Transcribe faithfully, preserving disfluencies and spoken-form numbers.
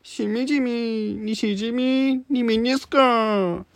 しみじみ、西じみ、にみですか。